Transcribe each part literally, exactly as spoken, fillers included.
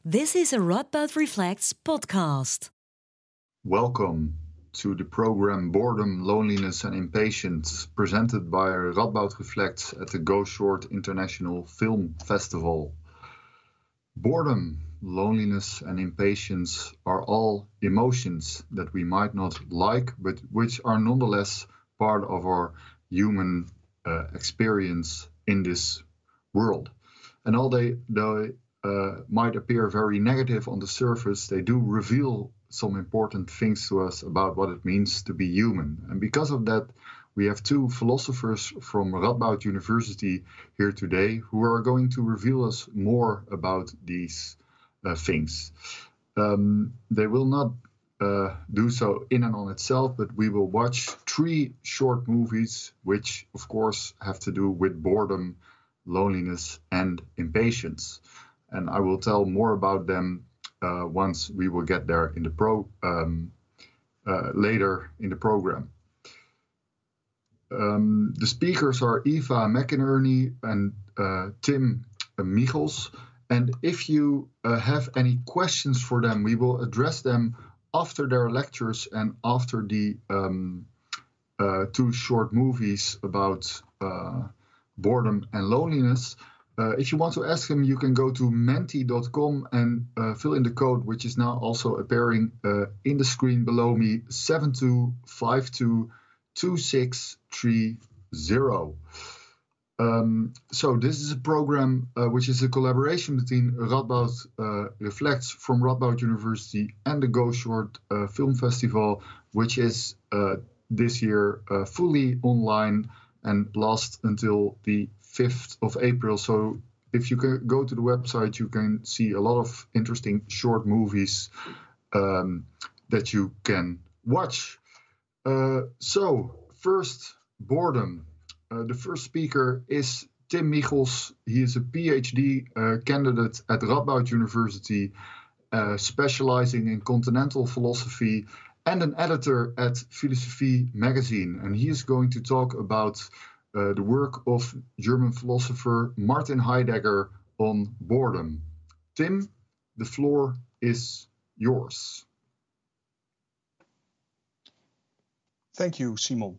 This is a Radboud Reflects podcast. Welcome to the program Boredom, Loneliness and Impatience, presented by Radboud Reflects at the Go Short International Film Festival. Boredom, loneliness and impatience are all emotions that we might not like, but which are nonetheless part of our human uh, experience in this world. And although they, they uh, might appear very negative on the surface, they do reveal some important things to us about what it means to be human. And because of that, we have two philosophers from Radboud University here today who are going to reveal us more about these uh, things. Um, they will not uh, do so in and on itself, but we will watch three short movies, which of course have to do with boredom, loneliness, and impatience. And I will tell more about them uh, once we will get there in the pro um, uh, later in the program. Um, the speakers are Eva McInerney and uh, Tim Michels. And if you uh, have any questions for them, we will address them after their lectures and after the um, uh, two short movies about uh, boredom and loneliness. Uh, if you want to ask them, you can go to menti dot com and uh, fill in the code, which is now also appearing uh, in the screen below me, seven two five two two six three zero. Um, so this is a program uh, which is a collaboration between Radboud uh, Reflects from Radboud University and the Go Short uh, Film Festival, which is uh, this year uh, fully online and lasts until the fifth of April. So if you can go to the website, you can see a lot of interesting short movies um, that you can watch. Uh, so first, boredom. Uh, the first speaker is Tim Michels. He is a PhD uh, candidate at Radboud University, uh, specializing in continental philosophy, and an editor at Philosophie magazine. And he is going to talk about uh, the work of German philosopher Martin Heidegger on boredom. Tim, the floor is yours. Thank you, Simon.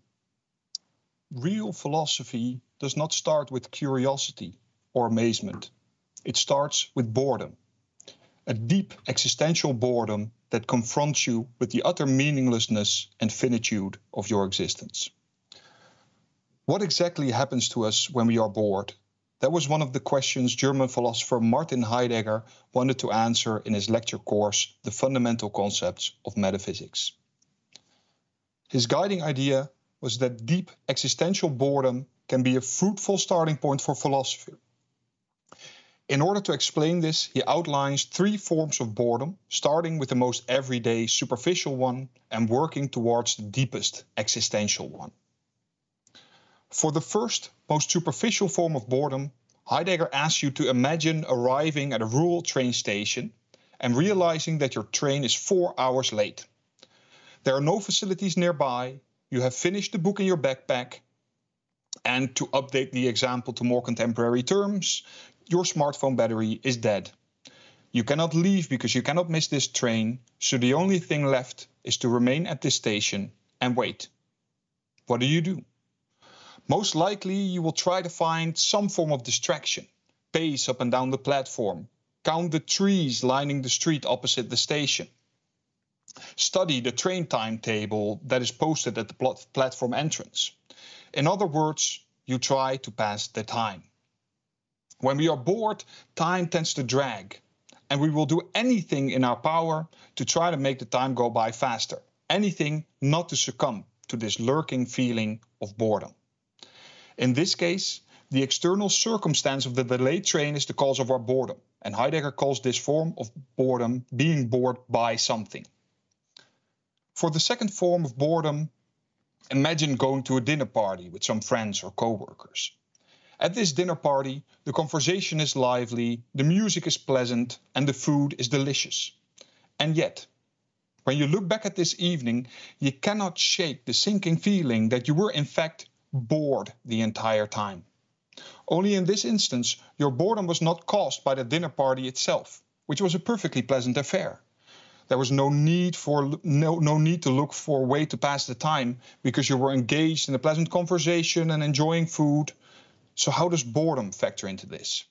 Real philosophy does not start with curiosity or amazement. It starts with boredom, a deep existential boredom that confronts you with the utter meaninglessness and finitude of your existence. What exactly happens to us when we are bored? That was one of the questions German philosopher Martin Heidegger wanted to answer in his lecture course, The Fundamental Concepts of Metaphysics. His guiding idea was that deep existential boredom can be a fruitful starting point for philosophy. In order to explain this, he outlines three forms of boredom, starting with the most everyday, superficial one and working towards the deepest existential one. For the first, most superficial form of boredom, Heidegger asks you to imagine arriving at a rural train station and realizing that your train is four hours late. There are no facilities nearby. You have finished the book in your backpack, and to update the example to more contemporary terms, your smartphone battery is dead. You cannot leave because you cannot miss this train, so the only thing left is to remain at this station and wait. What do you do? Most likely you will try to find some form of distraction, pace up and down the platform, count the trees lining the street opposite the station, study the train timetable that is posted at the pl- platform entrance. In other words, you try to pass the time. When we are bored, time tends to drag, and we will do anything in our power to try to make the time go by faster. Anything not to succumb to this lurking feeling of boredom. In this case, the external circumstance of the delayed train is the cause of our boredom, and Heidegger calls this form of boredom being bored by something. For the second form of boredom, imagine going to a dinner party with some friends or co-workers. At this dinner party, the conversation is lively, the music is pleasant, and the food is delicious. And yet, when you look back at this evening, you cannot shake the sinking feeling that you were in fact bored the entire time. Only in this instance, your boredom was not caused by the dinner party itself, which was a perfectly pleasant affair. There was no need for no, no need to look for a way to pass the time because you were engaged in a pleasant conversation and enjoying food. So how does boredom factor into this?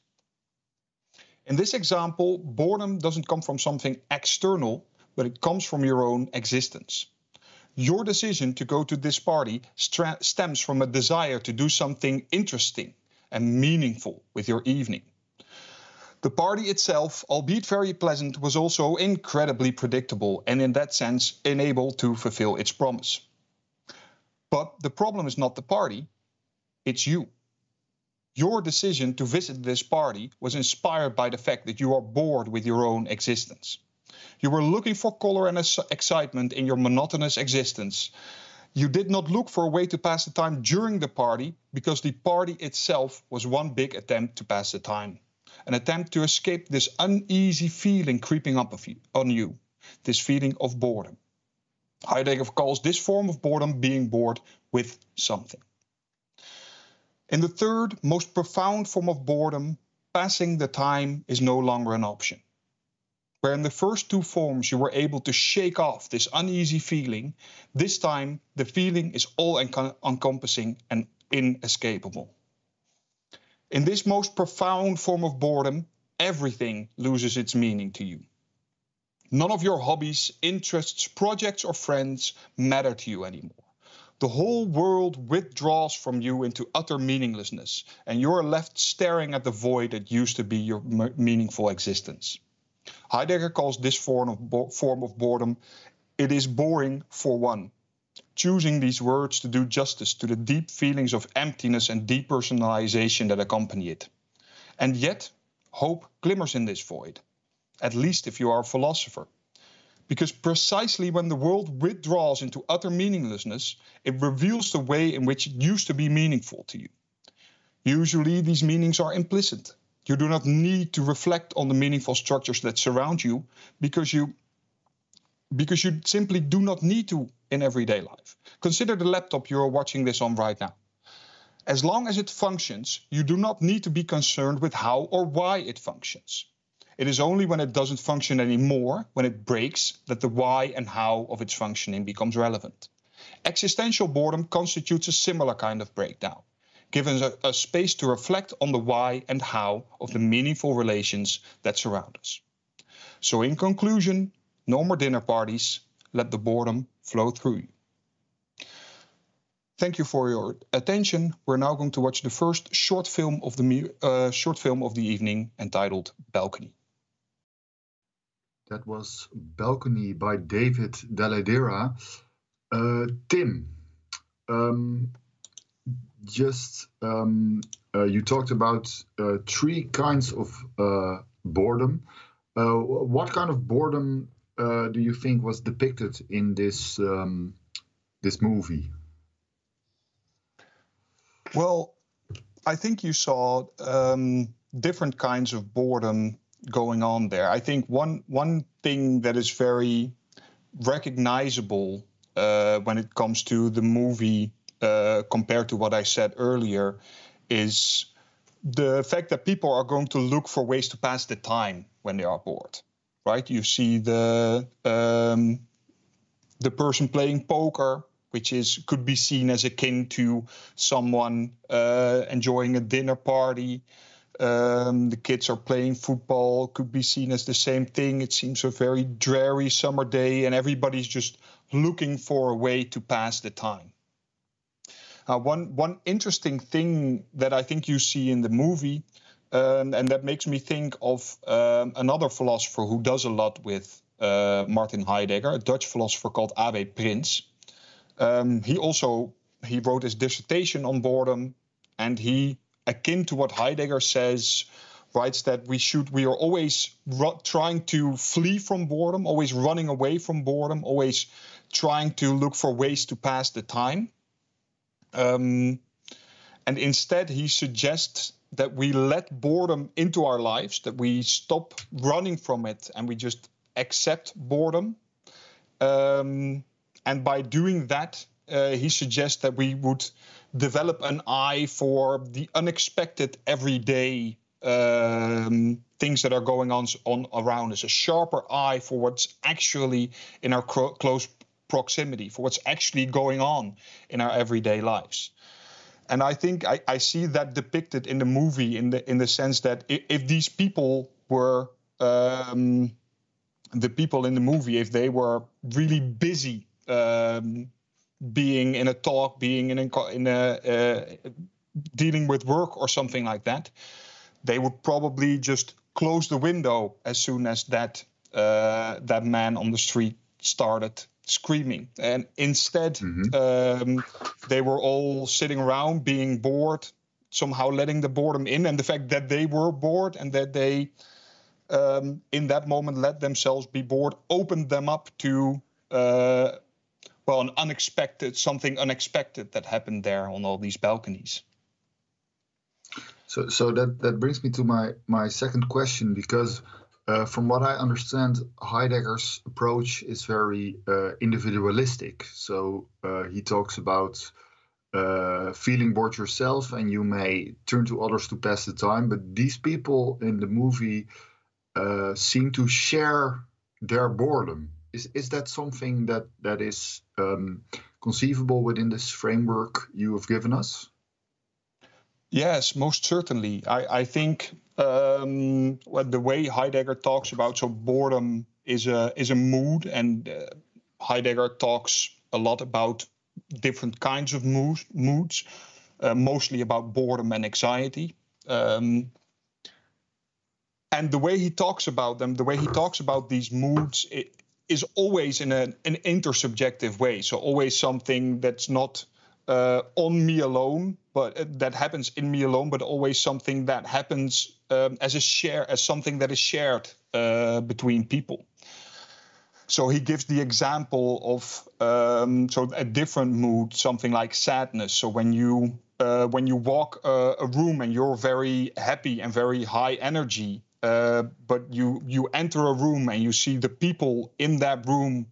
In this example, boredom doesn't come from something external, but it comes from your own existence. Your decision to go to this party stra- stems from a desire to do something interesting and meaningful with your evening. The party itself, albeit very pleasant, was also incredibly predictable and in that sense unable to fulfill its promise. But the problem is not the party, it's you. Your decision to visit this party was inspired by the fact that you are bored with your own existence. You were looking for color and excitement in your monotonous existence. You did not look for a way to pass the time during the party because the party itself was one big attempt to pass the time. An attempt to escape this uneasy feeling creeping up on you, this feeling of boredom. Heidegger calls this form of boredom being bored with something. In the third, most profound form of boredom, passing the time is no longer an option. Where in the first two forms you were able to shake off this uneasy feeling, this time the feeling is all-encompassing and inescapable. In this most profound form of boredom, everything loses its meaning to you. None of your hobbies, interests, projects, or friends matter to you anymore. The whole world withdraws from you into utter meaninglessness, and you're left staring at the void that used to be your meaningful existence. Heidegger calls this form of, bo- form of boredom, it is boring for one. Choosing these words to do justice to the deep feelings of emptiness and depersonalization that accompany it. And yet, hope glimmers in this void, at least if you are a philosopher. Because precisely when the world withdraws into utter meaninglessness, it reveals the way in which it used to be meaningful to you. Usually these meanings are implicit. You do not need to reflect on the meaningful structures that surround you because you, because you simply do not need to in everyday life. Consider the laptop you are watching this on right now. As long as it functions, you do not need to be concerned with how or why it functions. It is only when it doesn't function anymore, when it breaks, that the why and how of its functioning becomes relevant. Existential boredom constitutes a similar kind of breakdown, giving us a, a space to reflect on the why and how of the meaningful relations that surround us. So in conclusion, no more dinner parties. Let the boredom flow through you. Thank you for your attention. We're now going to watch the first short film of the uh, short film of the evening entitled Balcony. That was Balcony by David Dell'Edera. Uh, Tim, um, just um, uh, you talked about uh, three kinds of uh, boredom. Uh, what kind of boredom uh, do you think was depicted in this um, this movie? Well, I think you saw um, different kinds of boredom going on there. I think one one thing that is very recognizable uh, when it comes to the movie uh, compared to what I said earlier is the fact that people are going to look for ways to pass the time when they are bored, right? You see the um, the person playing poker, which is could be seen as akin to someone uh, enjoying a dinner party. Um, the kids are playing football, could be seen as the same thing. It seems a very dreary summer day, and everybody's just looking for a way to pass the time. Uh, one one interesting thing that I think you see in the movie, um, and that makes me think of um, another philosopher who does a lot with uh, Martin Heidegger, a Dutch philosopher called A W Prins. Um, he also he wrote his dissertation on boredom, and he, akin to what Heidegger says, writes that we should we are always ru- trying to flee from boredom, always running away from boredom, always trying to look for ways to pass the time. Um, and instead, he suggests that we let boredom into our lives, that we stop running from it and we just accept boredom. Um, and by doing that, uh, he suggests that we would develop an eye for the unexpected everyday um, things that are going on, on around us, a sharper eye for what's actually in our cro- close proximity, for what's actually going on in our everyday lives. And I think I, I see that depicted in the movie in the in the sense that if, if these people were um, the people in the movie, if they were really busy um, being in a talk, being in a, in a uh, dealing with work or something like that, they would probably just close the window as soon as that uh, that man on the street started screaming. And instead, mm-hmm. um, they were all sitting around being bored, somehow letting the boredom in. And the fact that they were bored and that they, um, in that moment, let themselves be bored, opened them up to, uh, well, an unexpected, something unexpected that happened there on all these balconies. So, so that, that brings me to my, my second question, because uh, from what I understand, Heidegger's approach is very uh, individualistic. So uh, he talks about uh, feeling bored yourself, and you may turn to others to pass the time. But these people in the movie uh, seem to share their boredom. Is is that something that that is um, conceivable within this framework you have given us? Yes, most certainly. I, I think um, well, the way Heidegger talks about so boredom is a is a mood, and uh, Heidegger talks a lot about different kinds of moods, moods uh, mostly about boredom and anxiety. Um, and the way he talks about them, the way he talks about these moods, it is always in a, an intersubjective way. So always something that's not Uh, on me alone, but uh, that happens in me alone, but always something that happens um, as a share, as something that is shared uh, between people. So he gives the example of um, so a different mood, something like sadness. So when you uh, when you walk uh, a room and you're very happy and very high energy, uh, but you you enter a room and you see the people in that room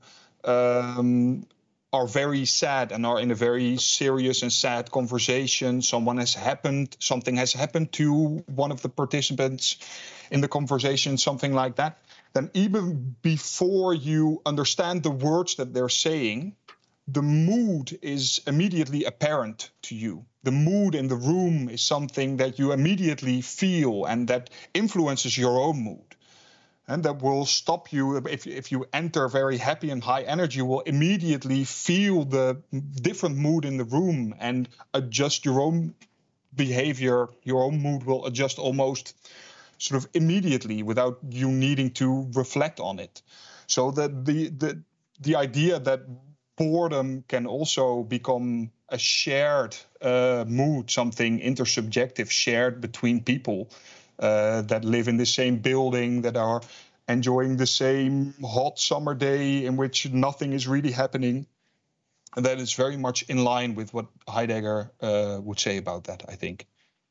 Um, are very sad and are in a very serious and sad conversation. Someone has happened, something has happened to one of the participants in the conversation, something like that. Then even before you understand the words that they're saying, the mood is immediately apparent to you. The mood in the room is something that you immediately feel and that influences your own mood. And that will stop you if, if you enter very happy and high energy, you will immediately feel the different mood in the room and adjust your own behavior. Your own mood will adjust almost sort of immediately without you needing to reflect on it. So that the the the idea that boredom can also become a shared uh, mood, something intersubjective, shared between people Uh, that live in the same building, that are enjoying the same hot summer day in which nothing is really happening. And that is very much in line with what Heidegger uh, would say about that, I think.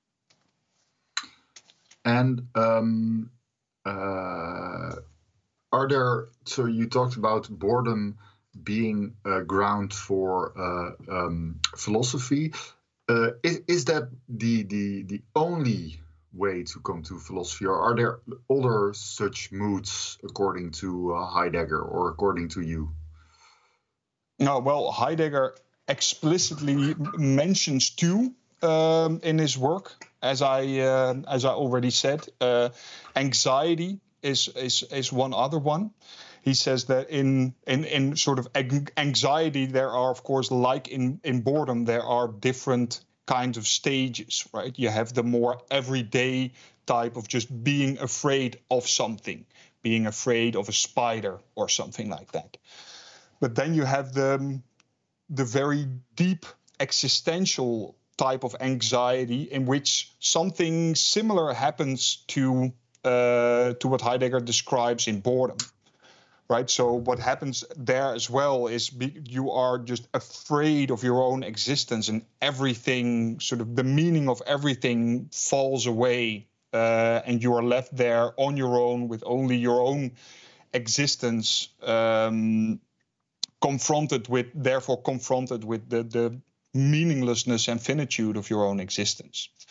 And um, uh, are there, so you talked about boredom being a ground for uh, um, philosophy. Uh, is, is that the, the, the only way to come to philosophy, or are there other such moods according to uh, Heidegger or according to you? No, well, Heidegger explicitly mentions two um, in his work, as I uh, as I already said. Uh, anxiety is is is one other one. He says that in in in sort of anxiety there are, of course, like in in boredom, there are different kinds of stages, right? You have the more everyday type of just being afraid of something, being afraid of a spider or something like that. But then you have the, the very deep existential type of anxiety in which something similar happens to uh, to what Heidegger describes in boredom. Right. So what happens there as well is be, you are just afraid of your own existence, and everything, sort of the meaning of everything falls away, uh, and you are left there on your own with only your own existence, um, confronted with, therefore confronted with the, the meaninglessness and finitude of your own existence.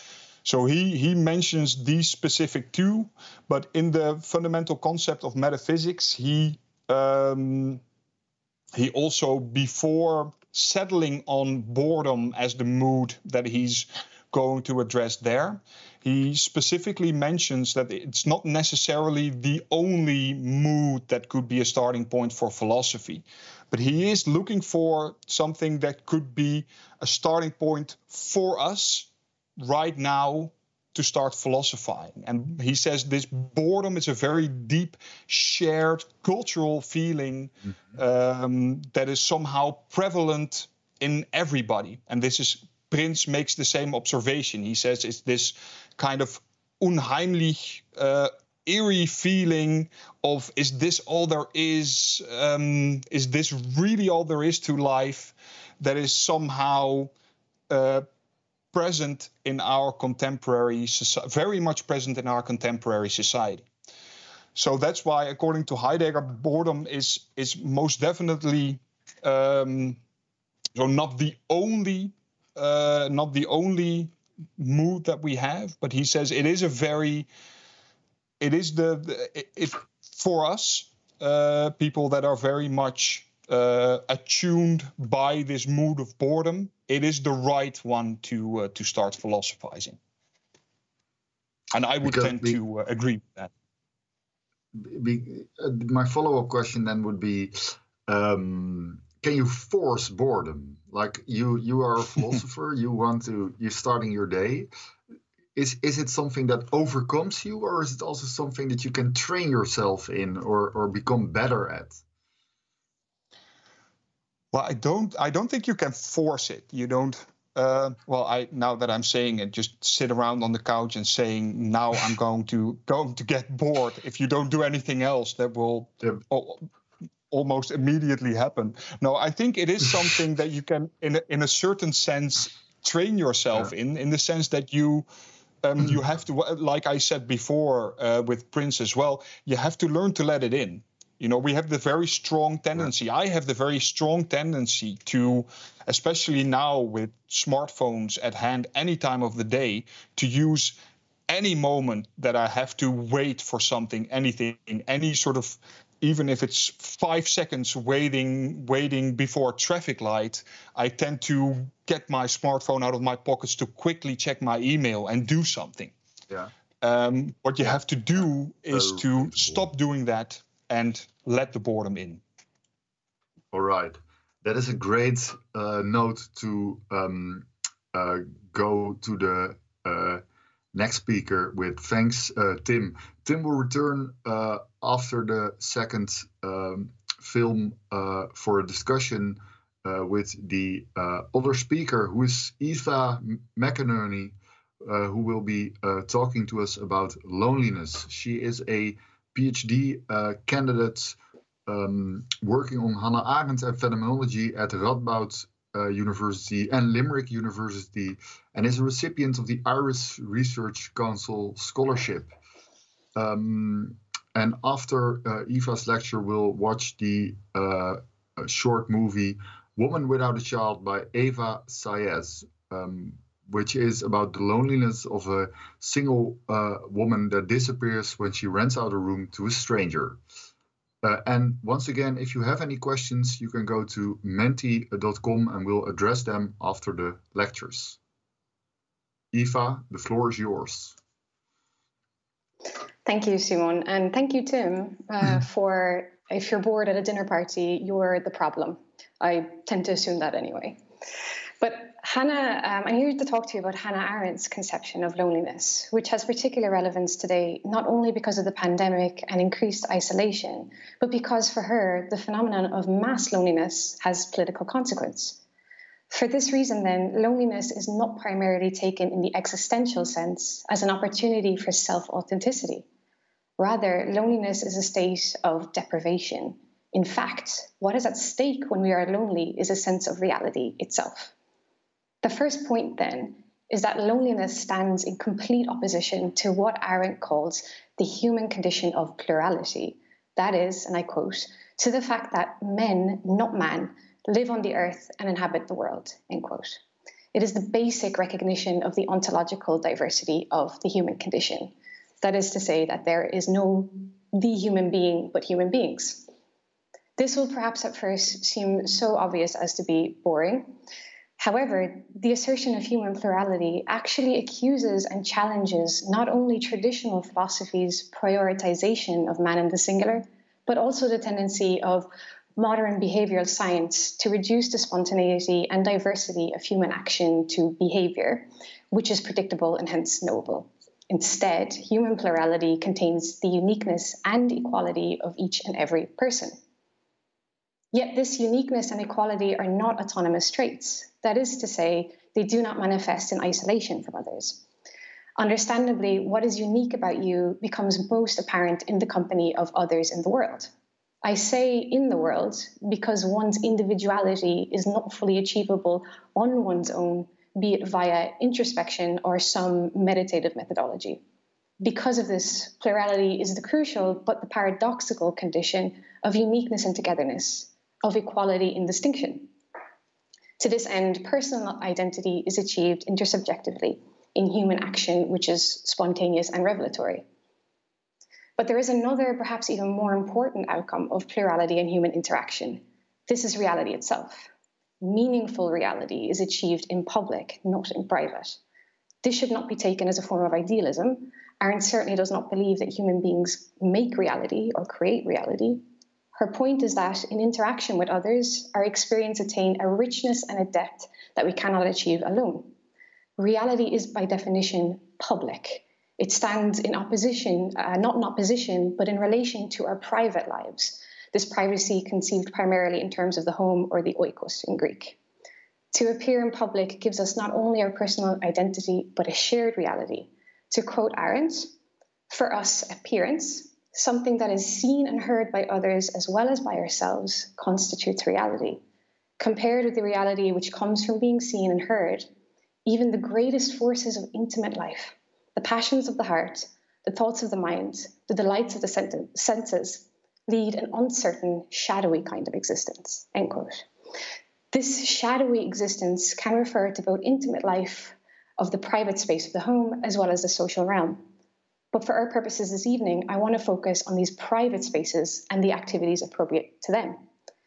So he, he mentions these specific two, but in the fundamental concept of metaphysics, he um, he also, before settling on boredom as the mood that he's going to address there, he specifically mentions that it's not necessarily the only mood that could be a starting point for philosophy, but he is looking for something that could be a starting point for us right now to start philosophizing. And he says this boredom is a very deep shared cultural feeling mm-hmm. um, that is somehow prevalent in everybody. And this is, Prince makes the same observation. He says it's this kind of unheimlich, uh, eerie feeling of, is this all there is? Um, is this really all there is to life? That is somehow uh, present in our contemporary society, very much present in our contemporary society. So that's why, according to Heidegger, boredom is is most definitely um, so not the only uh, not the only mood that we have, but he says it is a very it is the, the it, it for us uh, people that are very much uh, attuned by this mood of boredom. It is the right one to uh, to start philosophizing, and I would because tend we, to uh, agree with that. Be, uh, my follow-up question then would be: um, can you force boredom? Like you, you are a philosopher. you want to. You're starting your day. Is is it something that overcomes you, or is it also something that you can train yourself in, or or become better at? Well, I don't. I don't think you can force it. You don't. Uh, well, I now that I'm saying it, just sit around on the couch and saying, "Now I'm going to going to get bored." If you don't do anything else, that will yep. al- almost immediately happen. No, I think it is something that you can, in a, in a certain sense, train yourself yeah. in. In the sense that you. Um, you have to, like I said before uh, with Prince as well, you have to learn to let it in. You know, we have the very strong tendency. Yeah. I have the very strong tendency to, especially now with smartphones at hand any time of the day, to use any moment that I have to wait for something, anything, any sort of, even if it's five seconds waiting, waiting before a traffic light, I tend to get my smartphone out of my pockets to quickly check my email and do something. Yeah. Um, what you yeah. have to do yeah. is so to reasonable. Stop doing that and let the boredom in. All right. That is a great uh, note to um, uh, go to the uh, next speaker with. Thanks, uh, Tim. Tim will return uh, after the second um, film uh, for a discussion uh, with the uh, other speaker, who is Eva McInerney, uh, who will be uh, talking to us about loneliness. She is a PhD uh, candidate um, working on Hannah Arendt and phenomenology at Radboud uh, University and Limerick University, and is a recipient of the Irish Research Council Scholarship. Um, and after uh, Eva's lecture, we'll watch the uh, short movie Woman Without a Child by Eva Saez, um, which is about the loneliness of a single uh, woman that disappears when she rents out a room to a stranger. Uh, and once again, if you have any questions, you can go to menti dot com and we'll address them after the lectures. Eva, the floor is yours. Thank you, Simon. And thank you, Tim, uh, for if you're bored at a dinner party, you're the problem. I tend to assume that anyway. But Hannah, um, I'm here to talk to you about Hannah Arendt's conception of loneliness, which has particular relevance today, not only because of the pandemic and increased isolation, but because for her, the phenomenon of mass loneliness has political consequence. For this reason, then, loneliness is not primarily taken in the existential sense as an opportunity for self-authenticity. Rather, loneliness is a state of deprivation. In fact, what is at stake when we are lonely is a sense of reality itself. The first point, then, is that loneliness stands in complete opposition to what Arendt calls the human condition of plurality. That is, and I quote, to the fact that men, not man, live on the earth and inhabit the world, end quote. It is the basic recognition of the ontological diversity of the human condition. That is to say that there is no the human being, but human beings. This will perhaps at first seem so obvious as to be boring. However, the assertion of human plurality actually accuses and challenges not only traditional philosophy's prioritization of man in the singular, but also the tendency of modern behavioral science to reduce the spontaneity and diversity of human action to behavior, which is predictable and hence knowable. Instead, human plurality contains the uniqueness and equality of each and every person. Yet this uniqueness and equality are not autonomous traits. That is to say, they do not manifest in isolation from others. Understandably, what is unique about you becomes most apparent in the company of others in the world. I say in the world because one's individuality is not fully achievable on one's own, be it via introspection or some meditative methodology. Because of this, plurality is the crucial but the paradoxical condition of uniqueness and togetherness, of equality in distinction. To this end, personal identity is achieved intersubjectively in human action, which is spontaneous and revelatory. But there is another, perhaps even more important outcome of plurality in human interaction. This is reality itself. Meaningful reality is achieved in public, not in private. This should not be taken as a form of idealism. Arendt certainly does not believe that human beings make reality or create reality. Her point is that in interaction with others, our experience attains a richness and a depth that we cannot achieve alone. Reality is by definition public. It stands in opposition, uh, not in opposition, but in relation to our private lives. This privacy conceived primarily in terms of the home or the oikos in Greek. To appear in public gives us not only our personal identity, but a shared reality. To quote Arendt, for us, appearance, something that is seen and heard by others as well as by ourselves, constitutes reality. Compared with the reality which comes from being seen and heard, even the greatest forces of intimate life, the passions of the heart, the thoughts of the mind, the delights of the senses, lead an uncertain, shadowy kind of existence, end quote. This shadowy existence can refer to both intimate life of the private space of the home as well as the social realm. But for our purposes this evening, I want to focus on these private spaces and the activities appropriate to them.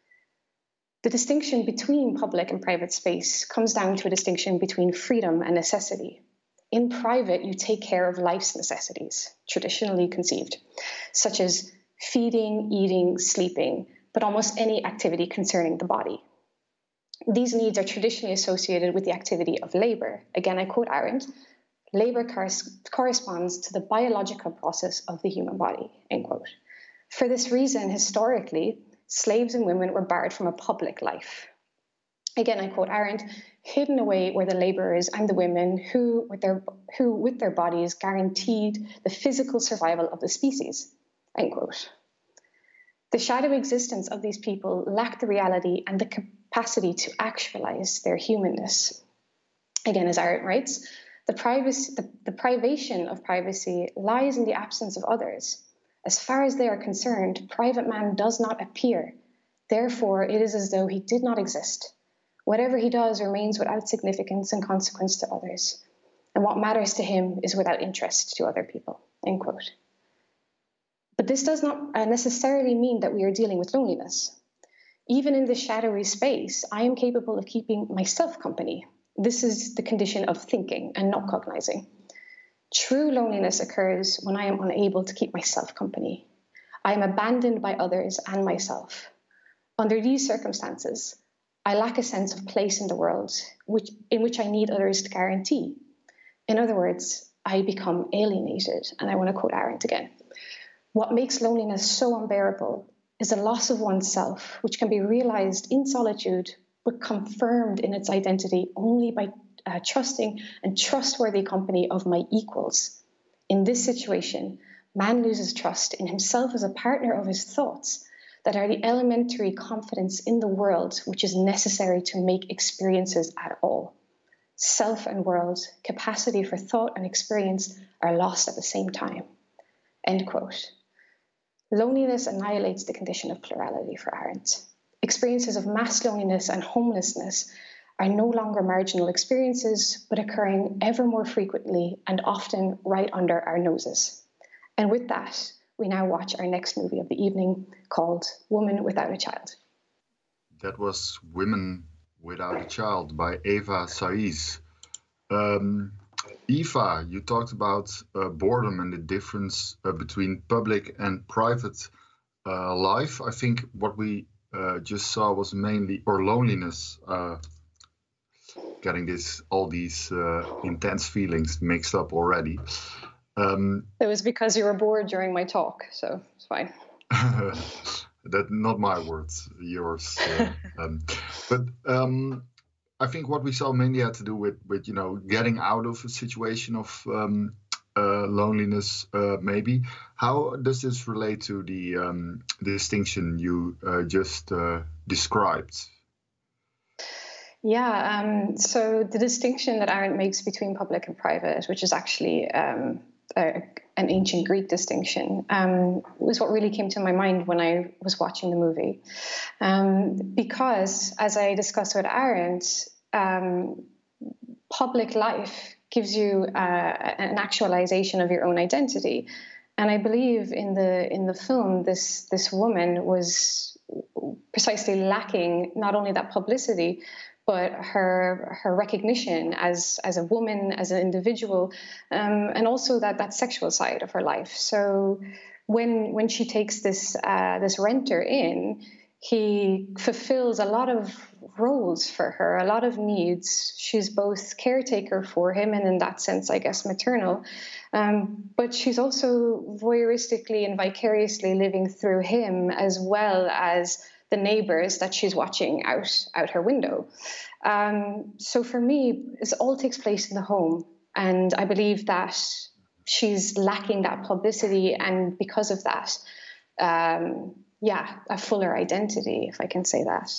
The distinction between public and private space comes down to a distinction between freedom and necessity. In private, you take care of life's necessities, traditionally conceived, such as feeding, eating, sleeping, but almost any activity concerning the body. These needs are traditionally associated with the activity of labor. Again, I quote Arendt, labor cor- corresponds to the biological process of the human body, end quote. For this reason, historically, slaves and women were barred from a public life. Again, I quote Arendt, hidden away were the laborers and the women who with, their, who, with their bodies, guaranteed the physical survival of the species, end quote. The shadowy existence of these people lacked the reality and the capacity to actualize their humanness. Again, as Arendt writes, the, privacy, the, the privation of privacy lies in the absence of others. As far as they are concerned, private man does not appear. Therefore, it is as though he did not exist. Whatever he does remains without significance and consequence to others. And what matters to him is without interest to other people, end quote. But this does not necessarily mean that we are dealing with loneliness. Even in this shadowy space, I am capable of keeping myself company. This is the condition of thinking and not cognizing. True loneliness occurs when I am unable to keep myself company. I am abandoned by others and myself. Under these circumstances, I lack a sense of place in the world, which, in which I need others to guarantee. In other words, I become alienated, and I want to quote Arendt again. What makes loneliness so unbearable is a loss of oneself, which can be realized in solitude, but confirmed in its identity only by uh, trusting and trustworthy company of my equals. In this situation, man loses trust in himself as a partner of his thoughts, that are the elementary confidence in the world which is necessary to make experiences at all. Self and world, capacity for thought and experience are lost at the same time. End quote. Loneliness annihilates the condition of plurality for Arendt. Experiences of mass loneliness and homelessness are no longer marginal experiences, but occurring ever more frequently and often right under our noses. And with that, we now watch our next movie of the evening called Woman Without a Child. That was Women Without a Child by Eva Saiz. Um, Eva, you talked about uh, boredom and the difference uh, between public and private uh, life. I think what we uh, just saw was mainly, or loneliness, uh, getting this all these uh, intense feelings mixed up already. Um, it was because you were bored during my talk, so it's fine. That not my words, yours. Uh, um, but um, I think what we saw mainly had to do with, with you know, getting out of a situation of um, uh, loneliness, uh, maybe. How does this relate to the, um, the distinction you uh, just uh, described? Yeah, um, so the distinction that Arendt makes between public and private, which is actually um, a, an ancient Greek distinction, um, was what really came to my mind when I was watching the movie. Um, because, as I discussed with Arendt, um, public life gives you uh, an actualization of your own identity. And I believe in the in the film, this this woman was precisely lacking not only that publicity, but her her recognition as as a woman, as an individual, um, and also that that sexual side of her life. So when when she takes this uh, this renter in, he fulfills a lot of roles for her, a lot of needs. She's both caretaker for him, and in that sense, I guess, maternal. Um, but she's also voyeuristically and vicariously living through him, as well as the neighbors that she's watching out out her window. Um, so for me, this all takes place in the home, and I believe that she's lacking that publicity, and because of that, um, yeah, a fuller identity, if I can say that.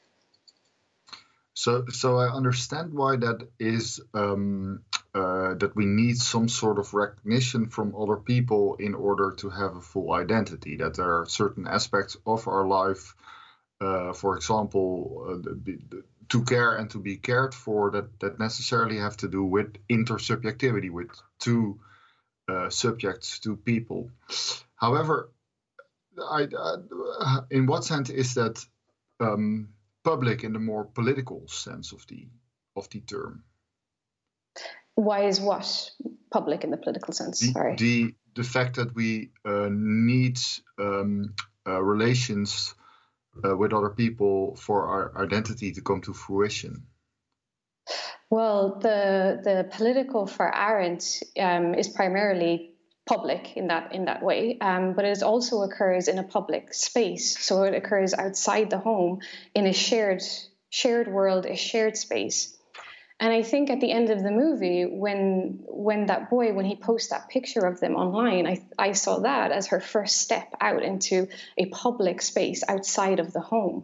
So, so I understand why that is. Um, uh, that we need some sort of recognition from other people in order to have a full identity. That there are certain aspects of our life. Uh, for example, uh, the, the, to care and to be cared for, that, that necessarily have to do with intersubjectivity, with two uh, subjects, two people. However, I, uh, in what sense is that um, public in the more political sense of the of the term? Why is what public in the political sense? The, Sorry. The the fact that we uh, need um, uh, relations Uh, with other people for our identity to come to fruition? Well, the the political for Arendt um, is primarily public in that in that way, um, but it also occurs in a public space. So it occurs outside the home in a shared shared world, a shared space. And I think at the end of the movie, when when that boy, when he posts that picture of them online, I, I saw that as her first step out into a public space outside of the home.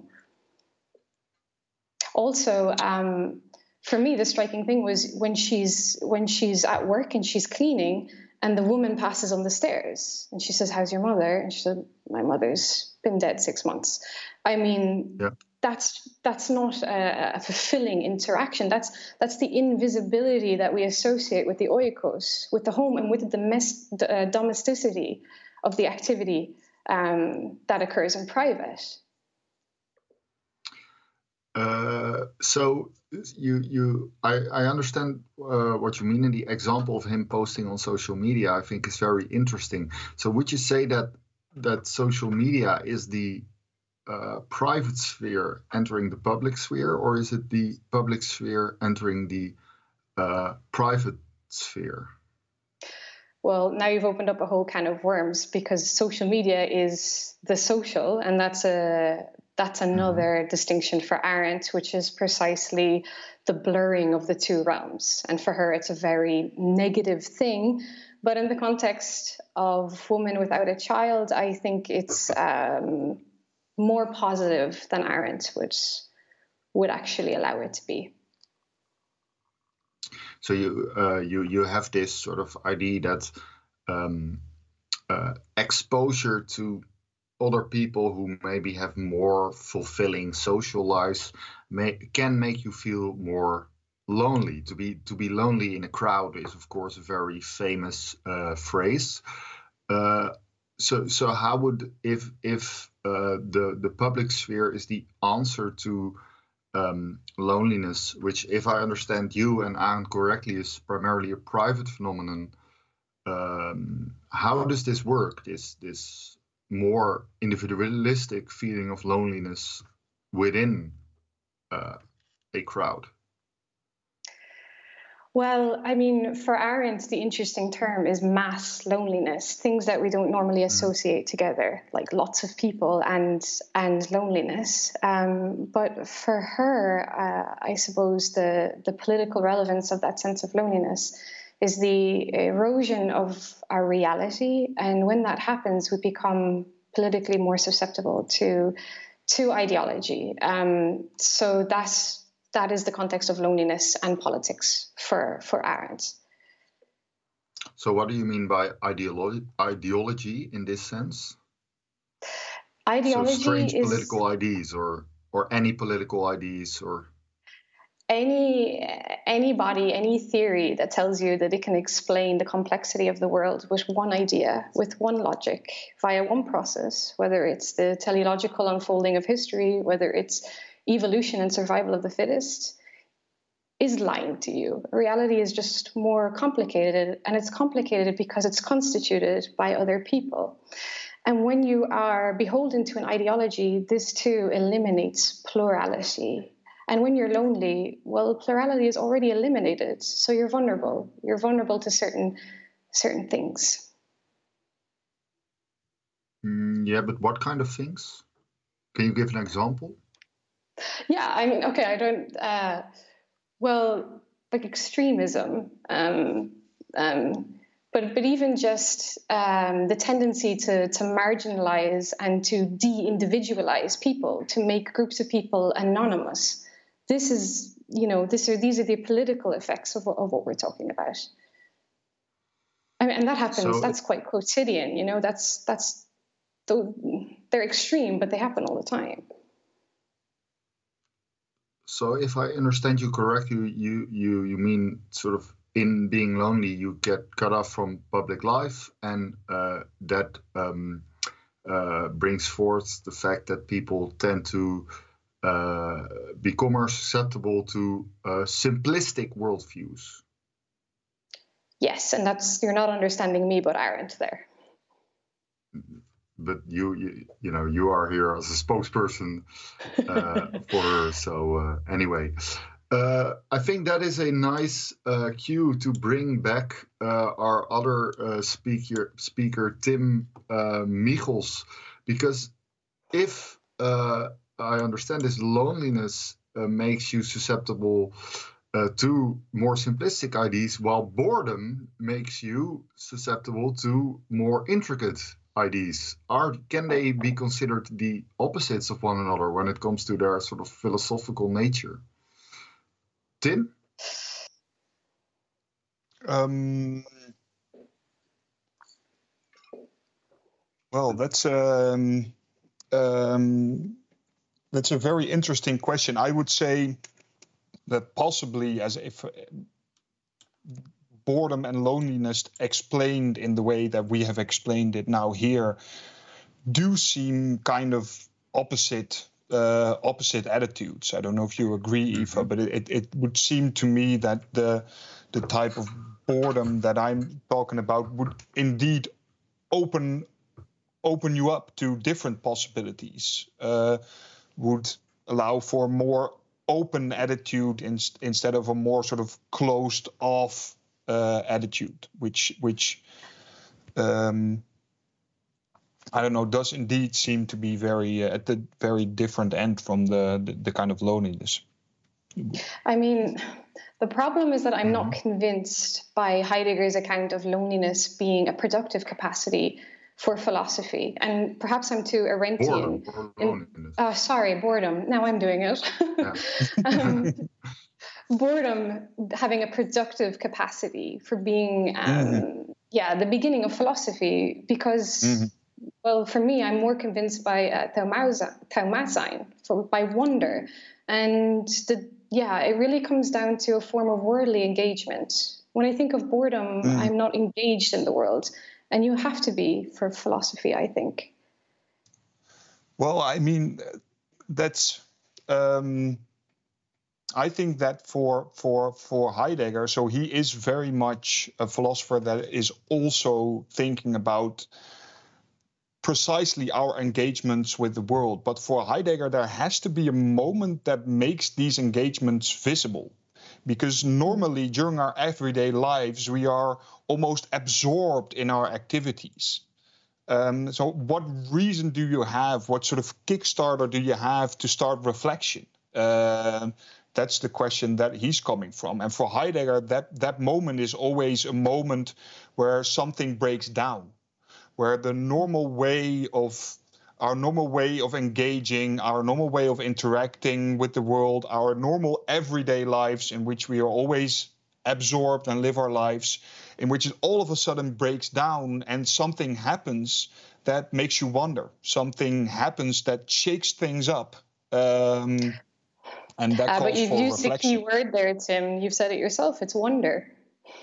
Also, um, for me, the striking thing was when she's when she's at work and she's cleaning, and the woman passes on the stairs, and she says, "How's your mother?" And she said, "My mother's been dead six months." I mean. Yeah. That's that's not a, a fulfilling interaction. That's that's the invisibility that we associate with the oikos, with the home, and with the domest, uh, domesticity of the activity um, that occurs in private. Uh, so you you I, I understand uh, what you mean in the example of him posting on social media. I think is very interesting. So would you say that that social media is the Uh, private sphere entering the public sphere, or is it the public sphere entering the uh, private sphere? Well, now you've opened up a whole can of worms, because social media is the social, and that's a that's another mm-hmm. distinction for Arendt, which is precisely the blurring of the two realms. And for her, it's a very negative thing. But in the context of Woman Without a Child, I think it's um, more positive than Arendt would would actually allow it to be. So you uh, you you have this sort of idea that um, uh, exposure to other people who maybe have more fulfilling social lives may, can make you feel more lonely. To be to be lonely in a crowd is, of course, a very famous uh, phrase. Uh, so so how would if if uh, the the public sphere is the answer to um, loneliness, which, if I understand you and Arend correctly, is primarily a private phenomenon. Um, how does this work? This this more individualistic feeling of loneliness within uh, a crowd? Well, I mean, for Arend, the interesting term is mass loneliness, things that we don't normally associate mm. together, like lots of people and and loneliness. Um, but for her, uh, I suppose the, the political relevance of that sense of loneliness is the erosion of our reality. And when that happens, we become politically more susceptible to, to ideology. Um, so that's That is the context of loneliness and politics for, for Arend. So what do you mean by ideolo- ideology in this sense? Ideology so strange is political ideas or, or any political ideas or... Any anybody, any theory that tells you that it can explain the complexity of the world with one idea, with one logic, via one process, whether it's the teleological unfolding of history, whether it's evolution and survival of the fittest, is lying to you. Reality is just more complicated, and it's complicated because it's constituted by other people. And when you are beholden to an ideology, this too eliminates plurality. And when you're lonely, well, plurality is already eliminated, so you're vulnerable. You're vulnerable to certain certain things. Mm, yeah, but what kind of things? Can you give an example? Yeah, I mean, okay, I don't, uh, well, like extremism, um, um, but but even just um, the tendency to, to marginalize and to de-individualize people, to make groups of people anonymous. This is, you know, this are, these are the political effects of, of what we're talking about. I mean, and that happens, so, that's quite quotidian, you know, that's, that's, the, they're extreme, but they happen all the time. So if I understand you correctly, you, you, you mean sort of in being lonely, you get cut off from public life, and uh, that um, uh, brings forth the fact that people tend to uh, become more susceptible to uh, simplistic worldviews. Yes, and that's, you're not understanding me, but Arend there. But you, you, you know, you are here as a spokesperson uh, for her. So uh, anyway, uh, I think that is a nice uh, cue to bring back uh, our other uh, speaker, speaker Tim uh, Michels, because if uh, I understand this, loneliness uh, makes you susceptible uh, to more simplistic ideas, while boredom makes you susceptible to more intricate ideas. Are can they be considered the opposites of one another when it comes to their sort of philosophical nature? Tim? Um, well, that's um, um, that's a very interesting question. I would say that possibly, as if boredom and loneliness explained in the way that we have explained it now here do seem kind of opposite uh, opposite attitudes. I don't know if you agree, mm-hmm. Eva, but it, it would seem to me that the the type of boredom that I'm talking about would indeed open open you up to different possibilities, uh, would allow for more open attitude in, instead of a more sort of closed off Uh, attitude, which which um, I don't know, does indeed seem to be very uh, at the very different end from the, the the kind of loneliness. I mean, the problem is that I'm mm-hmm. not convinced by Heidegger's account of loneliness being a productive capacity for philosophy, and perhaps I'm too Arendtian. Boredom, in, uh, sorry, boredom. Now I'm doing it. um, boredom having a productive capacity for being, um, mm-hmm. yeah, the beginning of philosophy, because mm-hmm. Well, for me, I'm more convinced by uh, Taumatzin, for by wonder, and the yeah, it really comes down to a form of worldly engagement. When I think of boredom, Mm. I'm not engaged in the world, and you have to be for philosophy, I think. Well, I mean, that's. Um, I think that for for for Heidegger, so he is very much a philosopher that is also thinking about precisely our engagements with the world. But for Heidegger, there has to be a moment that makes these engagements visible. Because normally during our everyday lives, we are almost absorbed in our activities. Um, so what reason do you have? What sort of Kickstarter do you have to start reflection? Um, that's the question that he's coming from. And for Heidegger, that, that moment is always a moment where something breaks down, where the normal way of our normal way of engaging, our normal way of interacting with the world, our normal everyday lives in which we are always absorbed and live our lives, in which it all of a sudden breaks down and something happens that makes you wonder. Something happens that shakes things up. Um, and that Uh, calls but you've for used reflection. the key word there, Tim. You've said it yourself. It's wonder.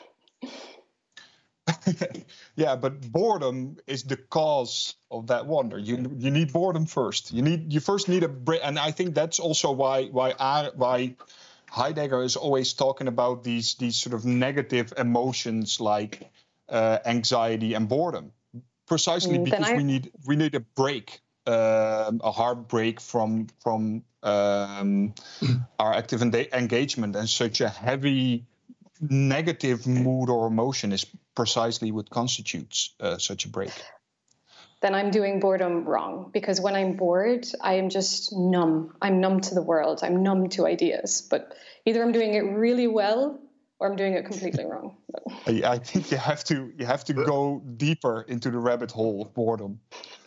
Yeah, but boredom is the cause of that wonder. You you need boredom first. You need you first need a break, and I think that's also why why I, why Heidegger is always talking about these these sort of negative emotions like uh, anxiety and boredom, precisely Mm, then because I we need we need a break, um, a hard break from from um, our active en- engagement, and such a heavy negative mood or emotion is precisely what constitutes uh, such a break. then I'm doing boredom wrong, because when I'm bored, I am just numb. I'm numb to the world. I'm numb to ideas. But either I'm doing it really well or I'm doing it completely wrong. I, I think you have to you have to go deeper into the rabbit hole of boredom.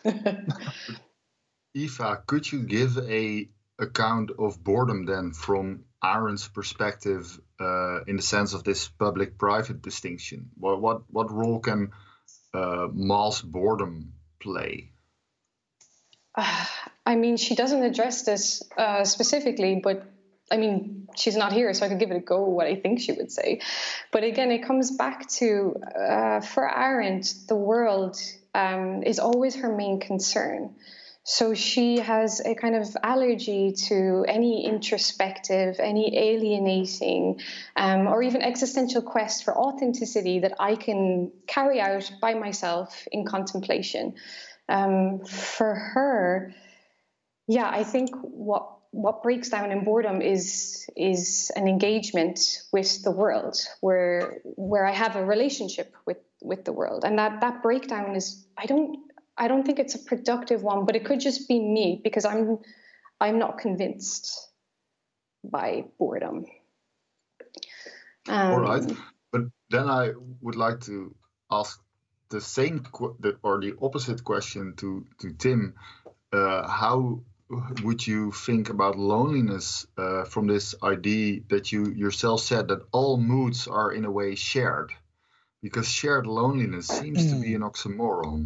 Eva, could you give a account of boredom then from Arendt's perspective, uh, in the sense of this public-private distinction? What what what role can uh, mass boredom play? Uh, I mean, she doesn't address this uh, specifically, but I mean, she's not here, so I could give it a go what I think she would say. But again, it comes back to, uh, for Arendt, the world um, is always her main concern. So she has a kind of allergy to any introspective, any alienating, um, or even existential quest for authenticity that I can carry out by myself in contemplation. Um, for her, yeah, I think what what breaks down in boredom is is an engagement with the world, where where I have a relationship with with the world, and that that breakdown is I don't. I don't think it's a productive one, but it could just be me, because I'm I'm not convinced by boredom. Um, All right, but then I would like to ask the same qu- the, or the opposite question to to Tim. Uh, how would you think about loneliness uh, from this idea that you yourself said that all moods are in a way shared? Because shared loneliness seems to be an oxymoron.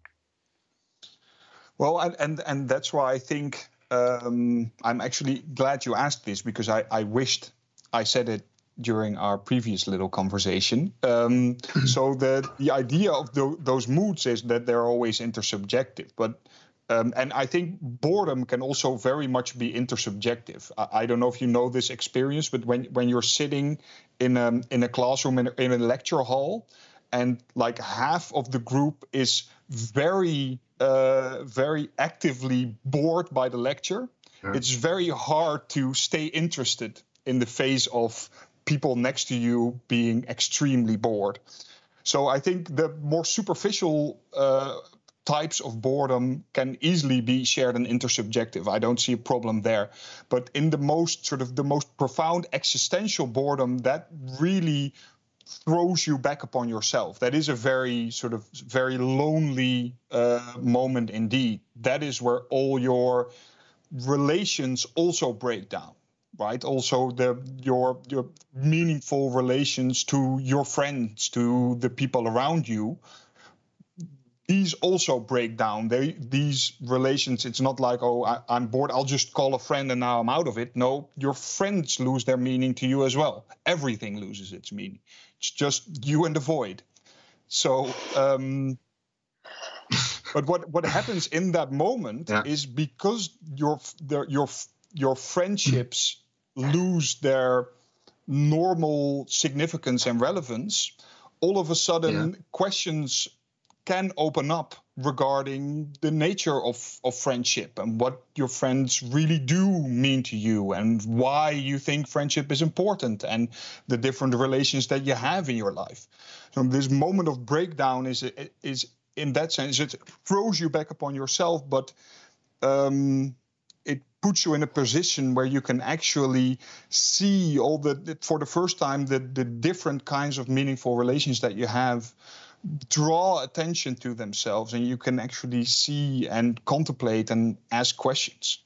Well, and and, and that's why I think um, I'm actually glad you asked this, because I, I wished I said it during our previous little conversation. Um, so the the idea of the, those moods is that they're always intersubjective, but um, and I think boredom can also very much be intersubjective. I, I don't know if you know this experience, but when when you're sitting in a in a classroom in a, in a lecture hall, and like half of the group is very uh, very actively bored by the lecture, Yeah. it's very hard to stay interested in the face of people next to you being extremely bored. So I think the more superficial uh, types of boredom can easily be shared and intersubjective. I don't see a problem there. But in the most sort of the most profound existential boredom, that really throws you back upon yourself. That is a very sort of very lonely uh, moment indeed. That is where all your relations also break down, right? Also the your your meaningful relations to your friends, to the people around you. these also break down. They, these relations, it's not like, oh, I, I'm bored, I'll just call a friend and now I'm out of it. No, your friends lose their meaning to you as well. Everything loses its meaning. It's just you and the void. So, um, but what, what happens in that moment yeah. is because your the, your your friendships lose their normal significance and relevance, all of a sudden yeah. questions can open up regarding the nature of, of friendship and what your friends really do mean to you and why you think friendship is important and the different relations that you have in your life. So this moment of breakdown is is in that sense, it throws you back upon yourself, but um, it puts you in a position where you can actually see all the, for the first time, the, the different kinds of meaningful relations that you have draw attention to themselves, and you can actually see and contemplate and ask questions.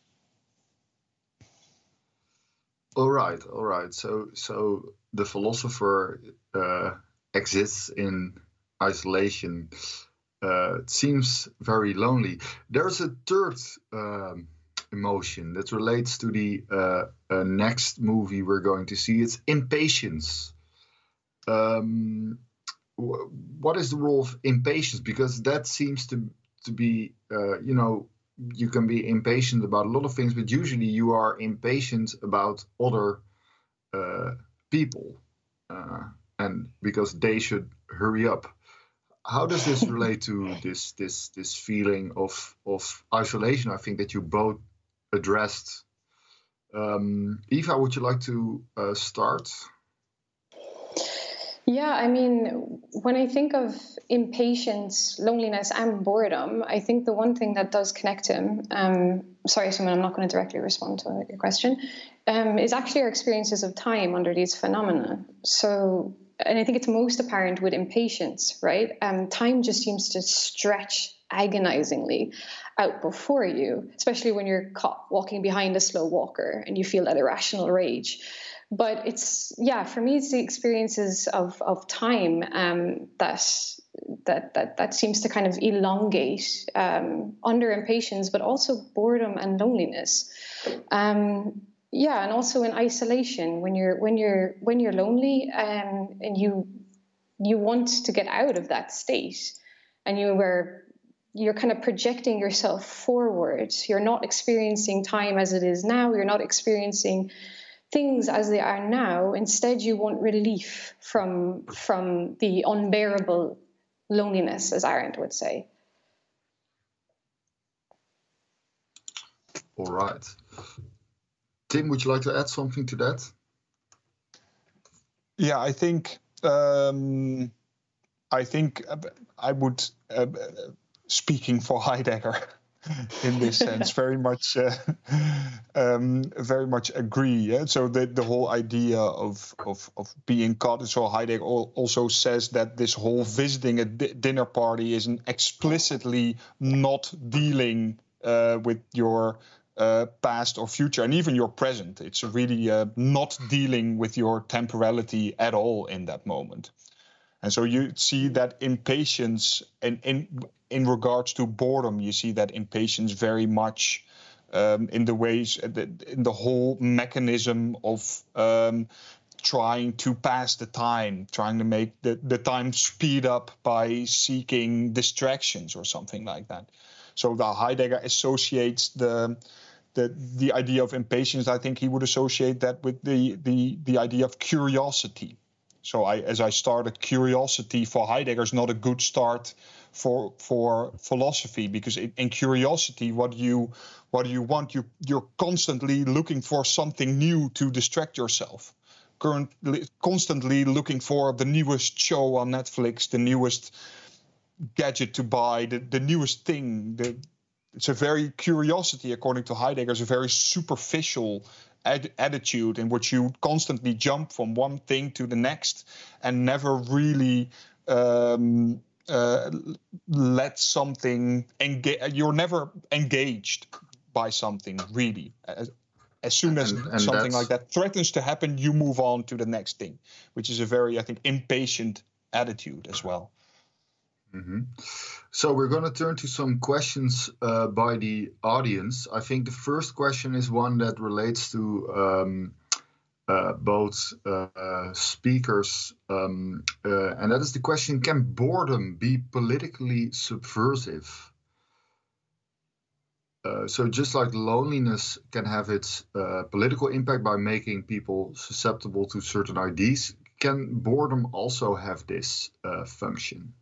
All right, all right. So, so the philosopher uh, exists in isolation. Uh, it seems very lonely. There's a third um, emotion that relates to the uh, uh, next movie we're going to see. It's impatience. Um, what is the role of impatience? Because that seems to to be, uh, you know, you can be impatient about a lot of things, but usually you are impatient about other uh, people, uh, and because they should hurry up. How does this relate to this this this feeling of of isolation? I think that you both addressed. Um, Eva, would you like to uh, start? Yeah, I mean, when I think of impatience, loneliness, and boredom, I think the one thing that does connect him, um, sorry, Simon, I'm not going to directly respond to your question, um, is actually our experiences of time under these phenomena. So, and I think it's most apparent with impatience, right? Um, time just seems to stretch agonizingly out before you, especially when you're caught walking behind a slow walker and you feel that irrational rage. But it's, yeah, for me, it's the experiences of, of time um, that, that that that seems to kind of elongate um, under impatience, but also boredom and loneliness. Um, yeah, and also in isolation, when you're when you're when you're lonely um, and you you want to get out of that state, and you were you're kind of projecting yourself forward. You're not experiencing time as it is now. You're not experiencing things as they are now. Instead, you want relief from from the unbearable loneliness, as Arendt would say. All right. Tim, would you like to add something to that? Yeah, I think um, I think I would, uh, speaking for Heidegger, in this sense, very much, uh, um, very much agree. Yeah? So the the whole idea of of of being caught. So Heidegger also says that this whole visiting a di- dinner party is an explicitly not dealing uh, with your uh, past or future, and even your present. It's really uh, not dealing with your temporality at all in that moment. And so you see that impatience, and in in regards to boredom, you see that impatience very much um, in the ways, in the whole mechanism of um, trying to pass the time, trying to make the, the time speed up by seeking distractions or something like that. So the Heidegger associates the the the idea of impatience. I think he would associate that with the the the idea of curiosity. So I, as I started, curiosity for Heidegger is not a good start for for philosophy, because in, in curiosity, what you what do you want? You you're constantly looking for something new to distract yourself. Currently, constantly looking for the newest show on Netflix, the newest gadget to buy, the, the newest thing. The, it's a very curiosity, according to Heidegger, is a very superficial Ad- attitude in which you constantly jump from one thing to the next and never really um, uh, let something engage. You're never engaged by something really. As, as soon as and, and something like that threatens to happen, you move on to the next thing, which is a very, I think, impatient attitude as well. Mm-hmm. So we're going to turn to some questions uh, by the audience. I think the first question is one that relates to um, uh, both uh, speakers, um, uh, and that is the question: can boredom be politically subversive? Uh, so just like loneliness can have its uh, political impact by making people susceptible to certain ideas, can boredom also have this uh, function?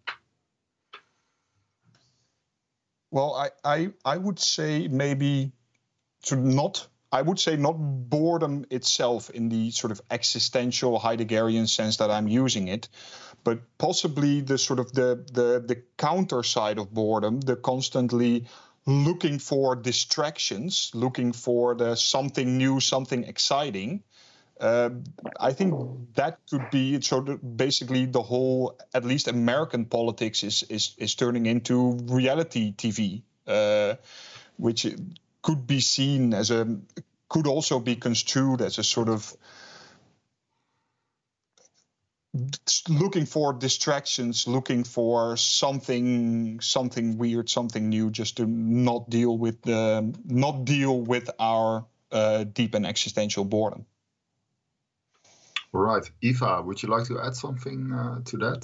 Well, I, I, I would say maybe to not, I would say not boredom itself in the sort of existential Heideggerian sense that I'm using it, but possibly the sort of the, the, the counter side of boredom, the constantly looking for distractions, looking for the something new, something exciting. Uh, I think that could be so. Basically, the whole, at least American politics, is is is turning into reality T V, uh, which could be seen as a, could also be construed as a sort of looking for distractions, looking for something something weird, something new, just to not deal with the not deal with our uh, deep and existential boredom. Right. Eva, would you like to add something uh, to that?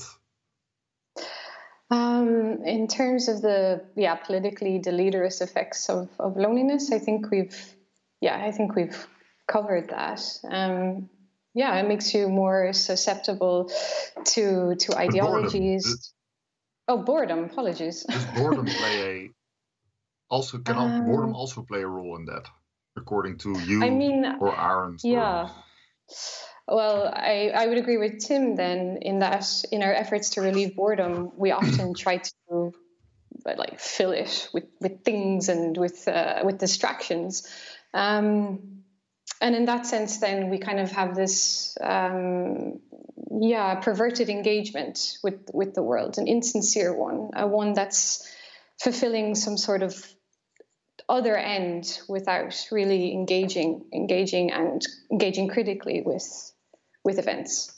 Um, in terms of the yeah politically deleterious effects of, of loneliness, I think we've yeah I think we've covered that. Um, yeah, it makes you more susceptible to to ideologies. Boredom. Oh, boredom. Apologies. Does boredom play a also can um, boredom also play a role in that, according to you I mean, or Arendt? Yeah. Or... Well, I, I would agree with Tim then in that in our efforts to relieve boredom, we often try to like fill it with, with things and with uh, with distractions. Um, and in that sense, then we kind of have this, um, yeah, perverted engagement with, with the world, an insincere one, a one that's fulfilling some sort of other end without really engaging, engaging and engaging critically with with events.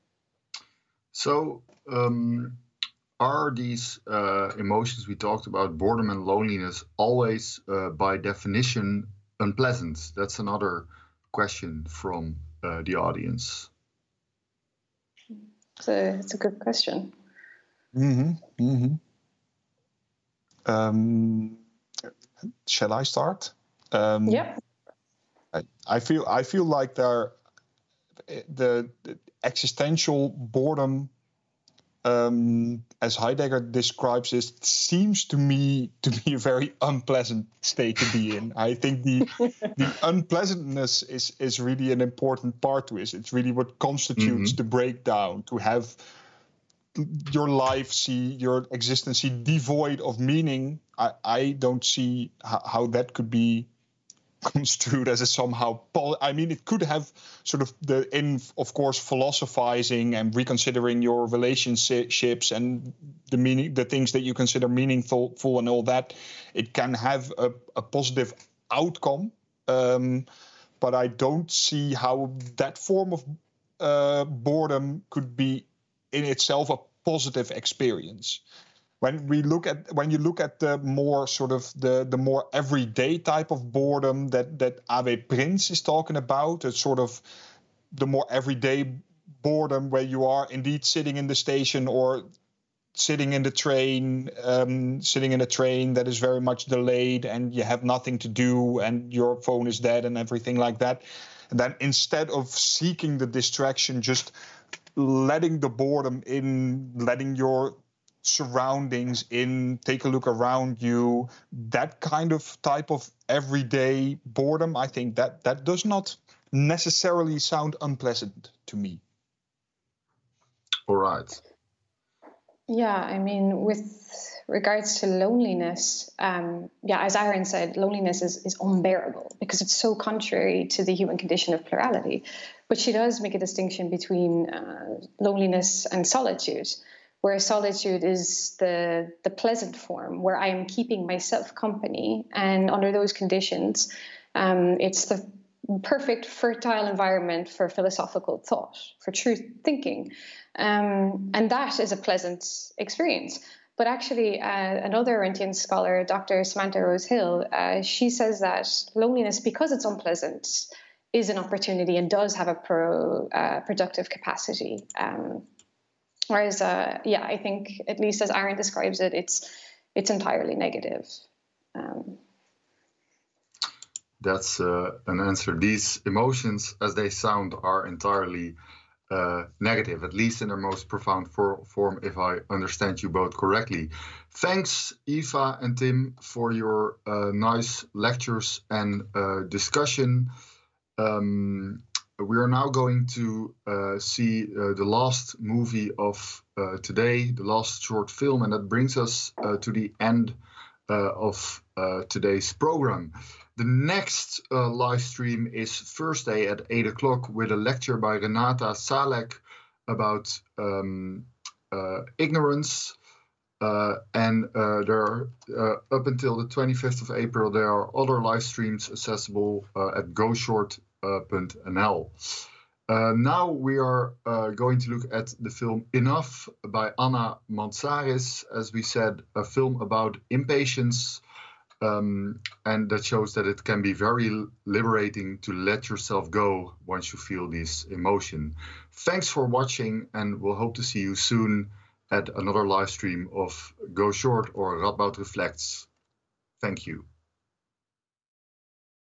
So, um, are these uh, emotions we talked about, boredom and loneliness, always uh, by definition unpleasant? That's another question from uh, the audience. It's a, it's a good question. Mm-hmm. Mm-hmm. Um, shall I start? Um, yeah. I, I feel I feel like there the, the existential boredom, um, as Heidegger describes it, seems to me to be a very unpleasant state to be in. I think the the unpleasantness is is really an important part to it. It's really what constitutes mm-hmm. the breakdown, to have your life see, your existence see devoid of meaning. I, I don't see how, how that could be construed as a somehow, pol- I mean, it could have sort of the, in, of course, philosophizing and reconsidering your relationships and the meaning, the things that you consider meaningful full and all that. It can have a, a positive outcome, um, but I don't see how that form of uh, boredom could be in itself a positive experience. When we look at when you look at the more sort of the, the more everyday type of boredom that that A W Prins is talking about, it's sort of the more everyday boredom where you are indeed sitting in the station or sitting in the train, um, sitting in a train that is very much delayed and you have nothing to do and your phone is dead and everything like that. And then instead of seeking the distraction, just letting the boredom in, letting your surroundings in, take a look around you, that kind of type of everyday boredom, I think that that does not necessarily sound unpleasant to me. All right. Yeah, I mean, with regards to loneliness, um, yeah, as Aaron said, loneliness is, is unbearable because it's so contrary to the human condition of plurality. But she does make a distinction between uh, loneliness and solitude, where solitude is the, the pleasant form, where I am keeping myself company. And under those conditions, um, it's the perfect fertile environment for philosophical thought, for truth thinking. Um, and that is a pleasant experience. But actually, uh, another Arendtian scholar, Doctor Samantha Rose Hill, uh, she says that loneliness, because it's unpleasant, is an opportunity and does have a pro uh, productive capacity. Um, whereas, uh, yeah, I think, at least as Aaron describes it, it's it's entirely negative. Um, That's uh, an answer. These emotions, as they sound, are entirely uh, negative, at least in their most profound for form, if I understand you both correctly. Thanks, Eva and Tim, for your uh, nice lectures and uh, discussion. Um, we are now going to uh, see uh, the last movie of uh, today, the last short film, and that brings us uh, to the end uh, of uh, today's program. The next uh, live stream is Thursday at eight o'clock with a lecture by Renata Salek about um, uh, ignorance. Uh, and uh, there are, uh, up until the twenty-fifth of April, there are other live streams accessible uh, at go short dot n l. Uh, now we are uh, going to look at the film Enough by Anna Mansaris, as we said, a film about impatience. Um, and that shows that it can be very liberating to let yourself go once you feel this emotion. Thanks for watching, and we'll hope to see you soon at another live stream of Go Short or Radboud Reflects. Thank you.